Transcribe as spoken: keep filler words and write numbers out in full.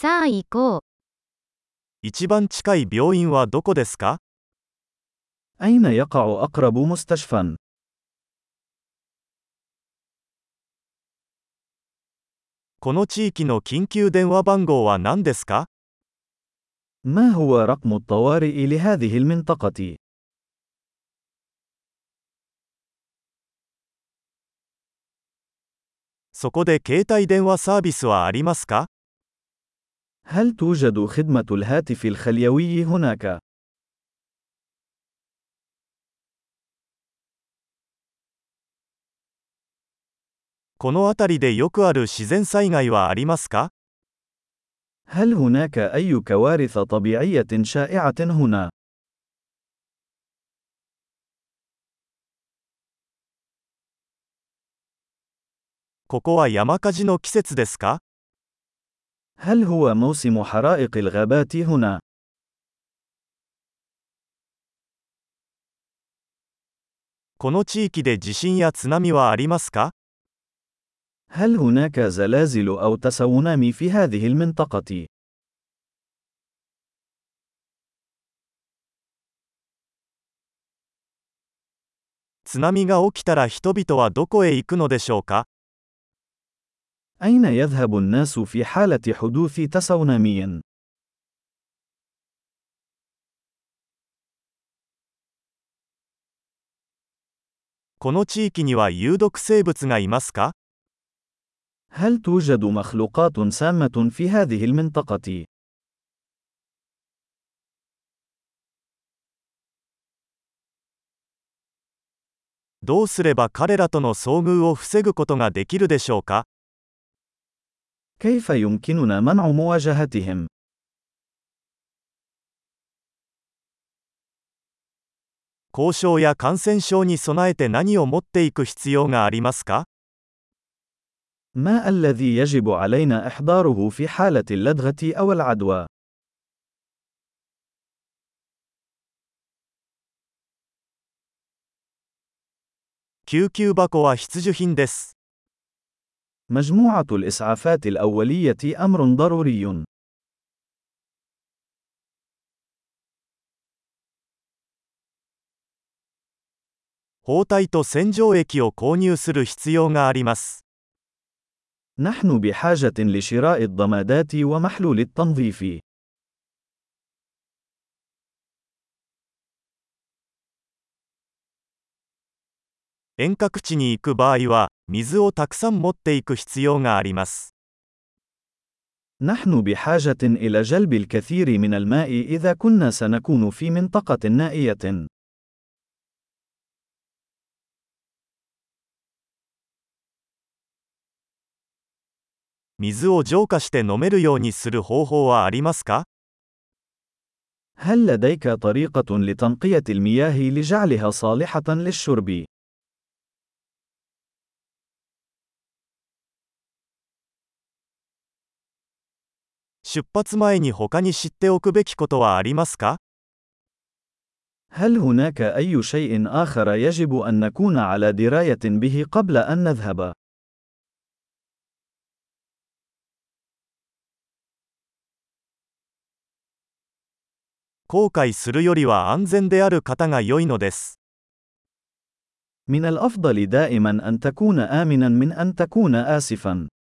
さあ行こう。 一番近い病院はどこですか？ أين يقع أقرب مستشفى؟ この地域の緊急電話番号は何ですか？ ما هو رقم الطوارئ لهذه المنطقة؟ そこで携帯電話サービスはありますか？ هل توجد خدمة الهاتف الخليوي هناك؟ この辺りでよくある自然災害はありますか？ هل هناك أي كوارث طبيعية شائعة هنا؟ ここは山火事の季節ですか？ هل هو موسم حرائق الغابات هنا؟ この地域で地震や津波はありますか？ هل هناك زلازل أو تسونامي في هذه المنطقة؟ 津波が起きたら人々はどこへ行くのでしょうか？ أين يذهب الناس في حالة حدوث تسونامي؟ この地域には有毒生物がいますか？ هل توجد مخلوقات سامة في هذه المنطقة؟ どうすれば彼らとの遭遇を防ぐことができるでしょうか？ كيف يمكننا منع مواجهتهم؟ 交渉や感染症に備えて何を持っていく必要がありますか？ ما الذي يجب علينا إحضاره في حالة اللدغة أو العدوى؟ 救急箱は必需品です。 مجموعة الإسعافات الأولية أمر ضروري. 包帯と洗浄液を購入する必要があります。 نحن بحاجة لشراء الضمادات ومحلول التنظيف. 遠隔地に行く場合は、水をたくさん持っていく必要があります。 نحن بحاجة إلى جلب الكثير من الماء إذا كنا سنكون في منطقة نائية. 水を浄化して飲めるようにする方法はありますか？ هل لديك طريقة لتنقية المياه لجعلها صالحة للشرب؟ 出発前に他に知っておくべきことはありますか？ هل هناك أي شيء آخر يجب أن نكون على دراية به قبل أن نذهب؟ 後悔するよりは安全である方が良いのです。 من الأفضل دائما أن تكون آمنا من أن تكون آسفا.